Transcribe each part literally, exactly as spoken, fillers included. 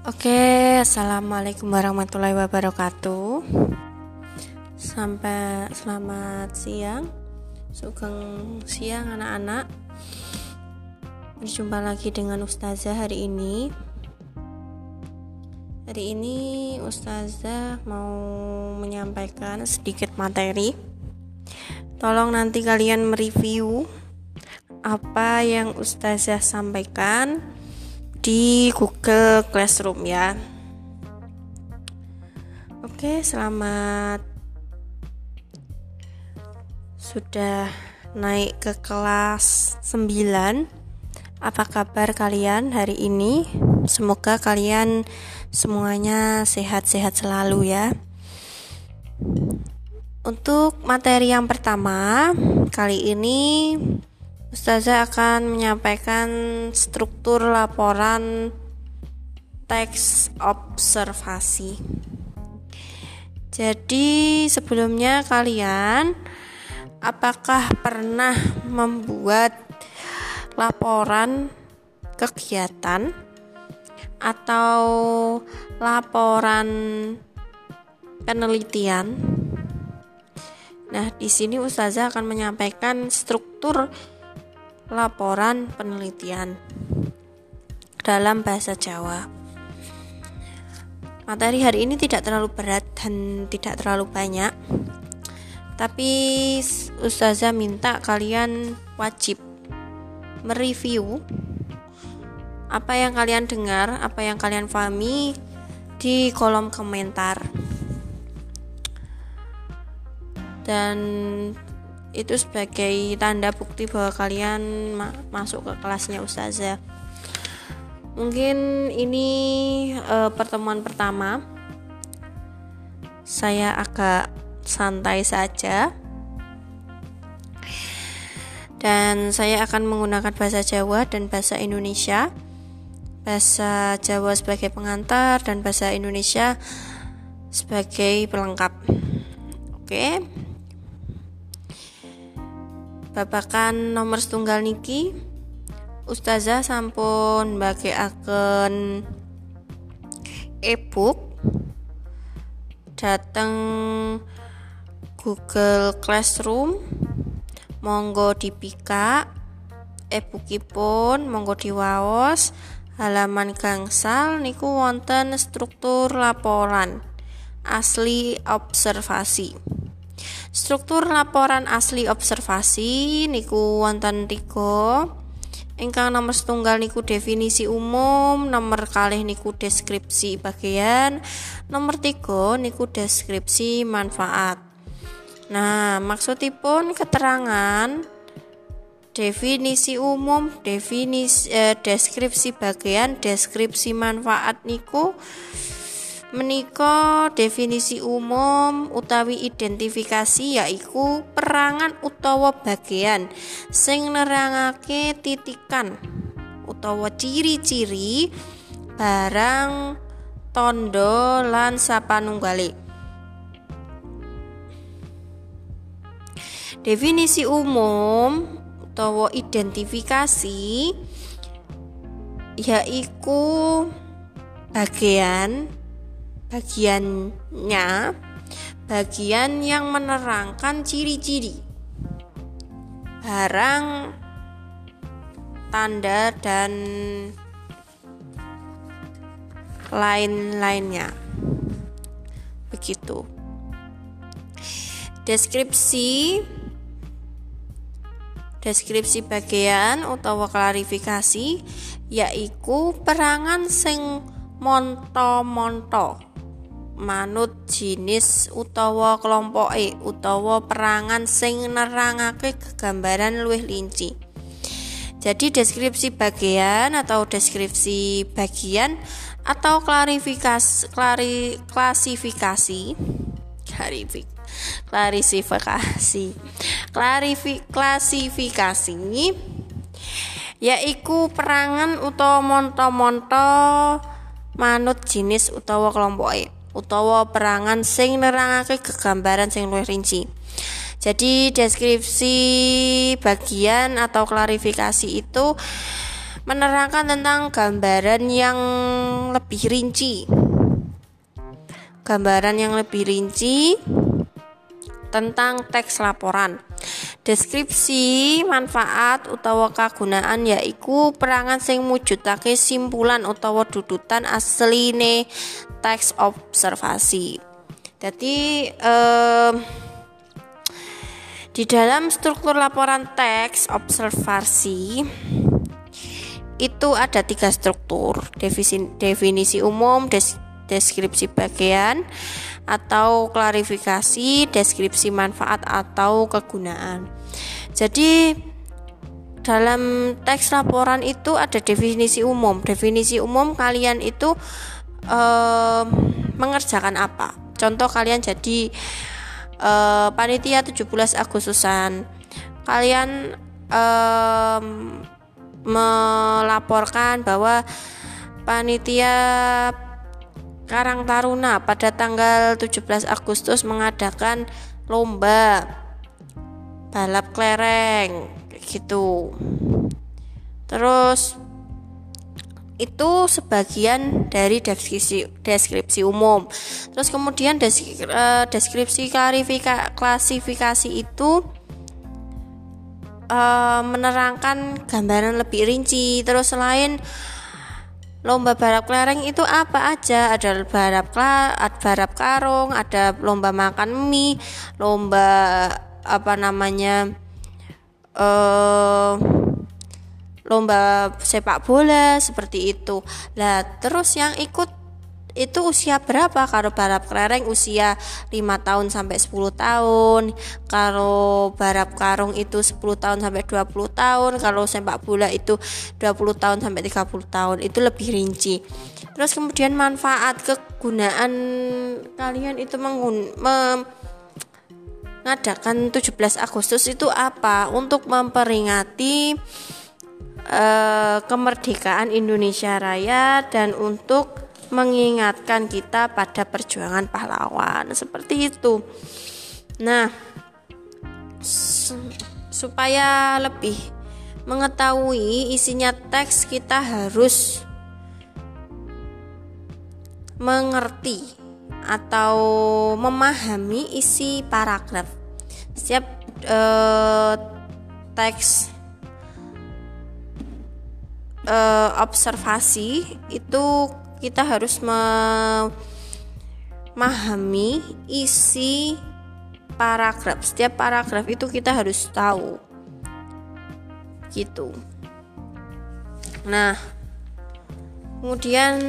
Oke, assalamualaikum warahmatullahi wabarakatuh. Sampai selamat siang, sugeng siang anak-anak. Berjumpa lagi dengan Ustazah hari ini. Hari ini Ustazah mau menyampaikan sedikit materi. Tolong nanti kalian mereview apa yang Ustazah sampaikan di Google Classroom ya. Oke, selamat sudah naik ke kelas sembilan. Apa kabar kalian hari ini? Semoga kalian semuanya sehat-sehat selalu ya. Untuk materi yang pertama, kali ini Ustazah akan menyampaikan struktur laporan teks observasi. Jadi sebelumnya kalian apakah pernah membuat laporan kegiatan atau laporan penelitian? Nah, di sini Ustazah akan menyampaikan struktur laporan penelitian dalam bahasa Jawa. Materi hari ini tidak terlalu berat dan tidak terlalu banyak, tapi Ustazah minta kalian wajib mereview apa yang kalian dengar, apa yang kalian pahami di kolom komentar. Dan itu sebagai tanda bukti bahwa kalian ma- masuk ke kelasnya Ustazah. Mungkin ini e, pertemuan pertama. Saya agak santai saja. Dan saya akan menggunakan bahasa Jawa dan bahasa Indonesia. Bahasa Jawa sebagai pengantar dan bahasa Indonesia sebagai pelengkap. Oke. Babakan nomor setunggal niki Ustazah sampun mbagekaken e-book dateng Google Classroom. Monggo dipikak e-bookipun, monggo diwaos. Halaman gangsal niku wonten struktur laporan asli observasi. Struktur laporan asli observasi niku wonten tiga. Ingkang nomor setunggal niku definisi umum, nomor kalih niku deskripsi bagian, nomor tiga niku deskripsi manfaat. Nah, maksudipun keterangan definisi umum, definisi eh, deskripsi bagian, deskripsi manfaat niku menika definisi umum utawi identifikasi yaiku perangan utawa bagian sing nerangake titikan utawa ciri-ciri barang tondo lan sapanunggale. Definisi umum utawa identifikasi yaiku bagian bagiannya bagian yang menerangkan ciri-ciri barang, tanda dan lain-lainnya. Begitu. Deskripsi deskripsi bagian utawa klarifikasi yaiku perangan sing monto-monto manut jinis utawa kelompoke utawa perangan sing nerangake kegambaran luwih linci. Jadi deskripsi bagian atau deskripsi bagian atau klarifikasi klari, klasifikasi klarifik klarifikasi klarifik klasifikasi yaiku perangan utawa monto-monto manut jinis utawa kelompoke utawa perangan sing nerangake kegambaran sing luwih rinci. Jadi deskripsi bagian atau klarifikasi itu menerangkan tentang gambaran yang lebih rinci. Gambaran yang lebih rinci tentang teks laporan. Deskripsi manfaat utawa kagunaan yaiku perangan sing mujudake simpulan utawa dudutan asline teks observasi. Jadi eh, di dalam struktur laporan teks observasi itu ada tiga struktur: definisi, definisi umum, des, deskripsi bagian atau klarifikasi, deskripsi manfaat atau kegunaan. Jadi dalam teks laporan itu ada definisi umum. Definisi umum kalian itu eh, mengerjakan apa? Contoh kalian jadi eh, panitia tujuh belas Agustusan. Kalian eh, melaporkan bahwa panitia Karang Taruna pada tanggal tujuh belas Agustus mengadakan lomba balap kelereng gitu. Terus itu sebagian dari deskripsi deskripsi umum. Terus kemudian deskripsi klasifikasi itu uh, menerangkan gambaran lebih rinci. Terus selain lomba balap kelereng itu apa aja? Ada balap balap karung, ada lomba makan mie, lomba apa namanya uh, lomba sepak bola seperti itu. Lah terus yang ikut itu usia berapa? Kalau balap kelereng usia lima tahun sampai sepuluh tahun. Kalau balap karung itu sepuluh tahun sampai dua puluh tahun. Kalau sepak bola itu dua puluh tahun sampai tiga puluh tahun. Itu lebih rinci. Terus kemudian manfaat kegunaan kalian itu mengun- mengadakan tujuh belas Agustus itu apa? Untuk memperingati uh, kemerdekaan Indonesia Raya dan untuk mengingatkan kita pada perjuangan pahlawan seperti itu. Nah, supaya lebih mengetahui isinya teks, kita harus mengerti atau memahami isi paragraf. Setiap eh, teks eh, observasi itu kita harus memahami isi paragraf. Setiap paragraf itu kita harus tahu gitu. Nah, kemudian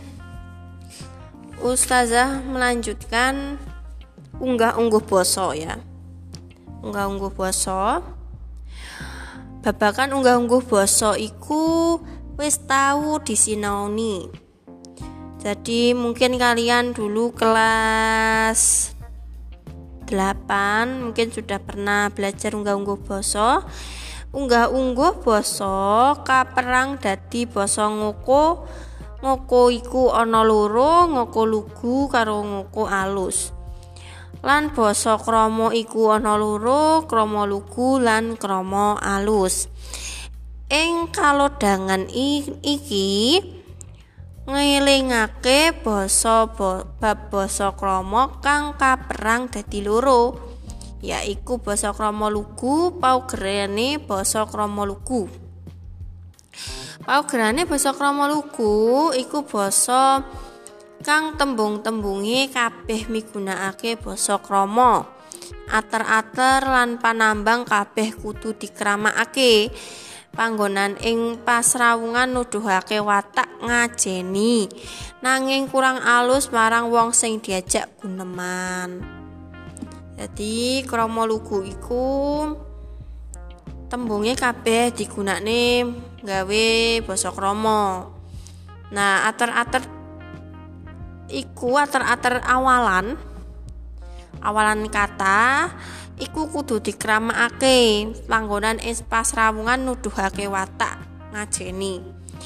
Ustazah melanjutkan unggah-ungguh basa ya. Unggah-ungguh basa. Babagan unggah-ungguh basa iku wis tahu disinaoni. Jadi mungkin kalian dulu kelas delapan mungkin sudah pernah belajar unggah-ungguh basa. Unggah-ungguh basa kaperang dadi basa ngoko. Ngoko iku ana loro, ngoko lugu karo ngoko alus. Lan basa krama iku ana loro, krama lugu lan krama alus. Ing kalodhangan iki ngelingake basa bab basa krama kang kaperang dadi loro, yaiku basa krama lugu, paugerane basa krama lugu. Paugerane basa krama lugu iku basa kang tembung-tembunge kabeh migunakake basa krama. Ater-ater lan panambang kabeh kudu dikramakake. Panggonan ing pasrawungan nuduhake watak ngajeni, nanging kurang alus marang wong sing diajak guneman. Jadi krama lugu iku tembunge kabeh digunakne gawe basa krama. Nah, ater-ater iku ater-ater awalan awalan kata iku kudu dikramakake. Panggonan ing pasrawungan nuduhake watak ngajeni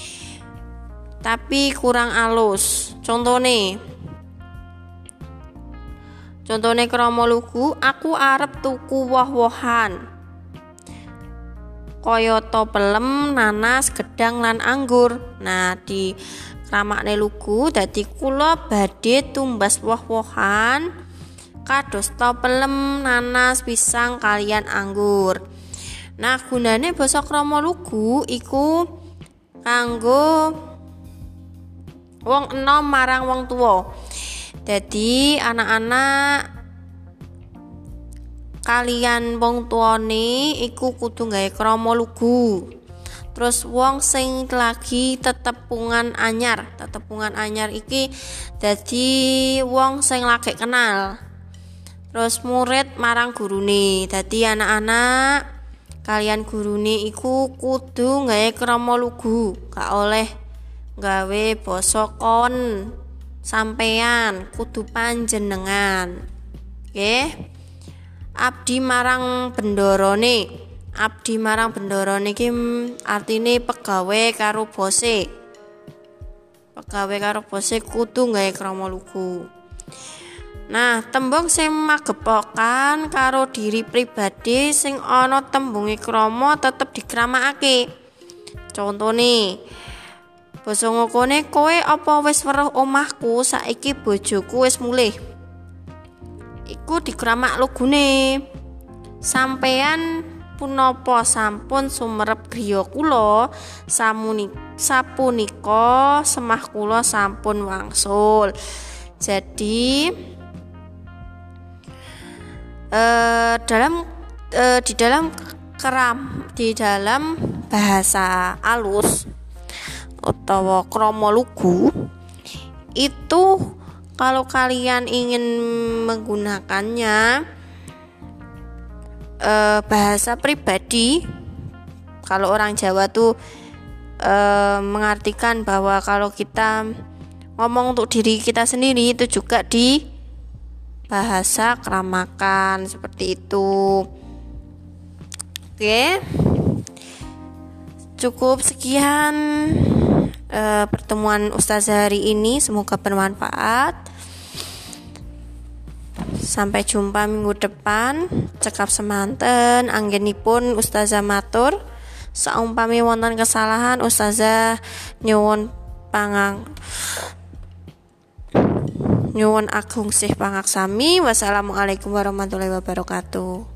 tapi kurang alus. Contone Contone krama lugu, aku arep tuku woh-wohan. kayata pelem, nanas, gedhang lan anggur. Nah, di kramakne lugu dadi kula badhe tumbas woh-wohan kadosta pelem, nanas, pisang kalian anggur. Nah, gunane basa krama lugu iku kanggo wong enom marang wong tuwa. Dadi anak-anak kalian wong tuane iku kudu gawe krama lugu. Terus wong sing lagi tetepungan anyar, tetepungan anyar iki dadi wong sing lagi kenal. Terus murid marang gurune. Dadi anak-anak kalian gurune iku kudu gawe krama lugu, gak oleh gawe basa kon sampean, kudu panjenengan. Nggih. Abdi marang bendarane. Abdi marang bendarane iki artine pegawe karo bose. Pegawe karo bose kudu gawe krama lugu. Nah, tembung sing magepokan karo diri pribadi sing ana tembunge krama tetep dikramakake. Contone basa ngokone, kowe apa wis weruh omahku, saiki bojoku wis mulih. Iku dikramak lugune. Sampean punapa sampun sumerep griya kula, samuni sapunika semah kula sampun wangsul. Jadi eh, dalam eh, di dalam keram di dalam bahasa alus utawa krama lugu itu, kalau kalian ingin menggunakannya eh, bahasa pribadi, kalau orang Jawa tuh eh, mengartikan bahwa kalau kita ngomong untuk diri kita sendiri itu juga di bahasa keramakan seperti itu. Oke, cukup sekian uh, pertemuan Ustazah hari ini, semoga bermanfaat. Sampai jumpa minggu depan. Cekap semanten anggenipun Ustazah matur. Saumpami wonten kesalahan Ustazah nyuwun pangang nyuwun agung sih pangaksami. Wassalamualaikum warahmatullahi wabarakatuh.